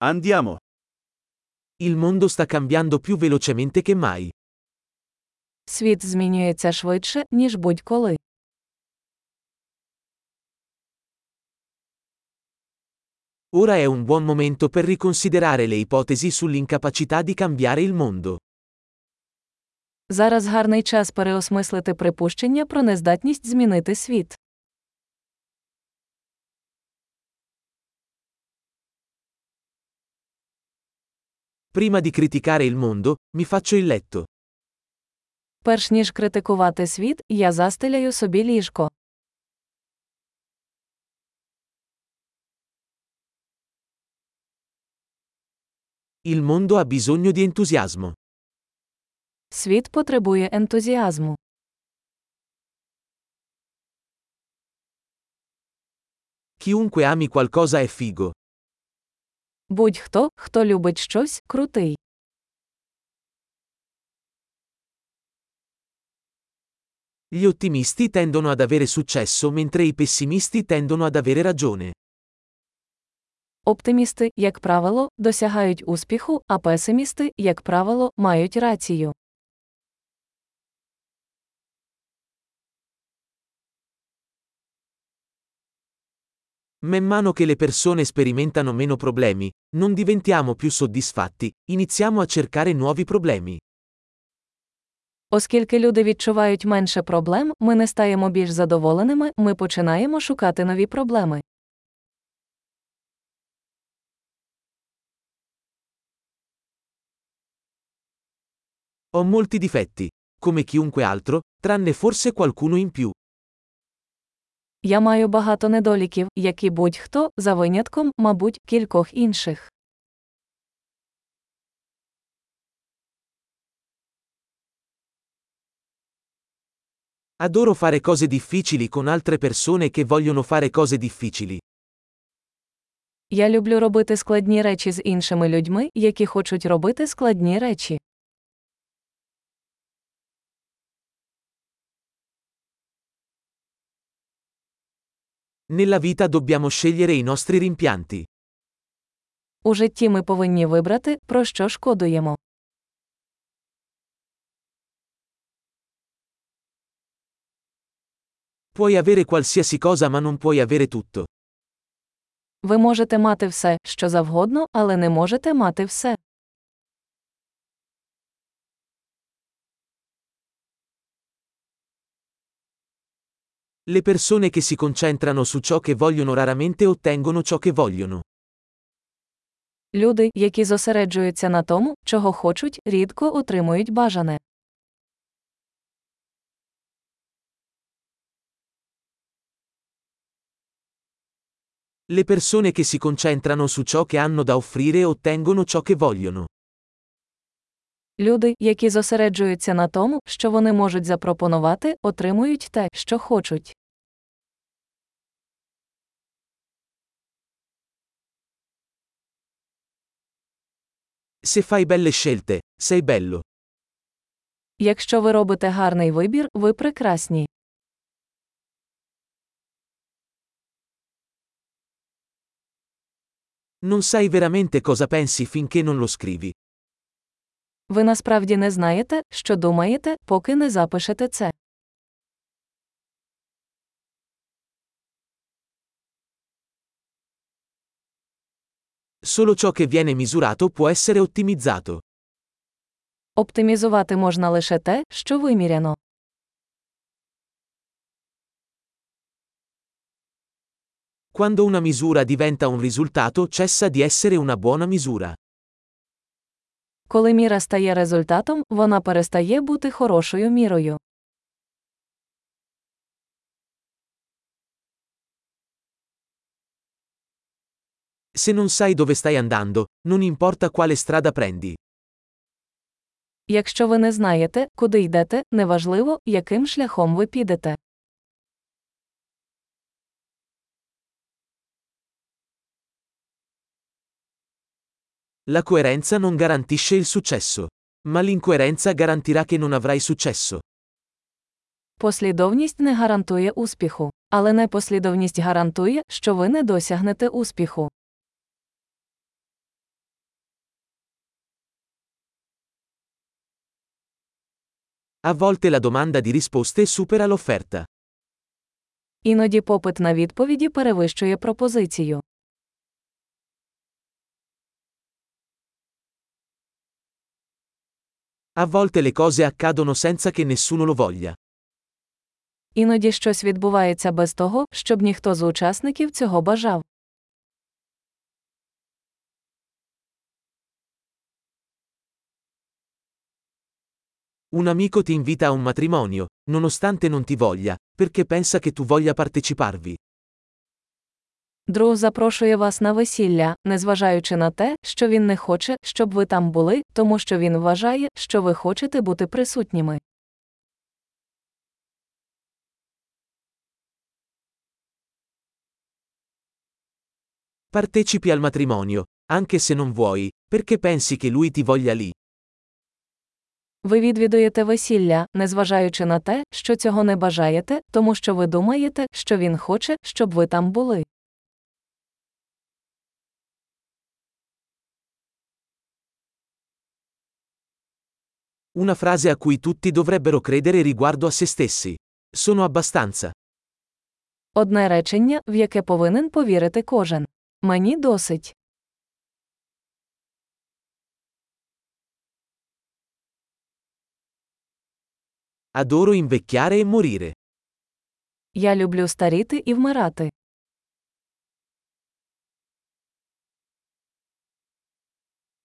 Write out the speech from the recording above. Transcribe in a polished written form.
Andiamo. Il mondo sta cambiando più velocemente che mai. Світ змінюється швидше, ніж будь-коли. Ora è un buon momento per riconsiderare le ipotesi sull'incapacità di cambiare il mondo. Зараз гарний час переосмислити припущення про нездатність змінити світ. Prima di criticare il mondo, mi faccio il letto. Перш ніж критикувати світ, я застеляю собі ліжко. Il mondo ha bisogno di entusiasmo. Світ потребує ентузіазму. Chiunque ami qualcosa è figo. Будь-хто, хто любить щось, крутий. Gli ottimisti tendono ad avere successo mentre i pessimisti tendono ad avere ragione. Оптимісти, як правило, досягають успіху, а песимісти, як правило, мають рацію. Man mano che le persone sperimentano meno problemi, non diventiamo più soddisfatti, iniziamo a cercare nuovi problemi. Оскільки люди відчувають менше проблем, ми не стаємо більш задоволеними, ми починаємо шукати нові проблеми. Ho molti difetti, come chiunque altro, tranne forse qualcuno in più. Я маю багато недоліків, як і будь-хто, за винятком, мабуть, кількох інших. Adoro fare cose difficili con altre persone che vogliono fare cose difficili. Я люблю робити складні речі з іншими людьми, які хочуть робити складні речі. Nella vita dobbiamo scegliere i nostri rimpianti. У житті ми повинні вибрати, про що шкодуємо. Puoi avere qualsiasi cosa ma non puoi avere tutto. Ви можете мати все, що завгодно, але не можете мати все. Le persone che si concentrano su ciò che vogliono raramente ottengono ciò che vogliono. Люди, які зосереджуються на тому, чого хочуть, рідко отримують бажане. Le persone che si concentrano su ciò che hanno da offrire ottengono ciò che vogliono. Люди, які зосереджуються на тому, що вони можуть запропонувати, отримують те, що хочуть. Se fai belle scelte, sei bello. Якщо ви робите гарний вибір, ви прекрасні. Non sai veramente cosa pensi finché non lo scrivi. Ви насправді не знаєте, що думаєте, поки не запишете це. Solo ciò che viene misurato può essere ottimizzato. Оптимізувати можна лише те, що виміряно. Quando una misura diventa un risultato cessa di essere una buona misura. Коли міра стає результатом, вона перестає бути хорошою мірою. Se non sai dove stai andando, non importa quale strada prendi. Якщо ви не знаєте, куди йдете, неважливо, яким шляхом ви підете. La coerenza non garantisce il successo. Ma l'incoerenza garantirà che non avrai successo. Послідовність не гарантує успіху. Але непослідовність гарантує, що ви не досягнете успіху. A volte la domanda di risposte supera l'offerta. Іноді попит на відповіді перевищує пропозицію. A volte le cose accadono senza che nessuno lo voglia. Іноді щось відбувається без того, щоб ніхто з учасників цього бажав. Un amico ti invita a un matrimonio, nonostante non ti voglia, perché pensa che tu voglia parteciparvi. Друг запрошує вас на весілля, незважаючи на те, що він не хоче, щоб ви там були, тому що він вважає, що ви хочете бути присутніми. Partecipi al matrimonio, anche se non vuoi, perché pensi che lui ti voglia lì. Ви відвідуєте весілля, незважаючи на те, що цього не бажаєте, тому що ви думаєте, що він хоче, щоб ви там були. Una frase a cui tutti dovrebbero credere riguardo a se stessi. Sono abbastanza. Одне речення, в яке повинен повірити кожен. Мені досить. Adoro invecchiare e morire. Я люблю старіти і вмирати.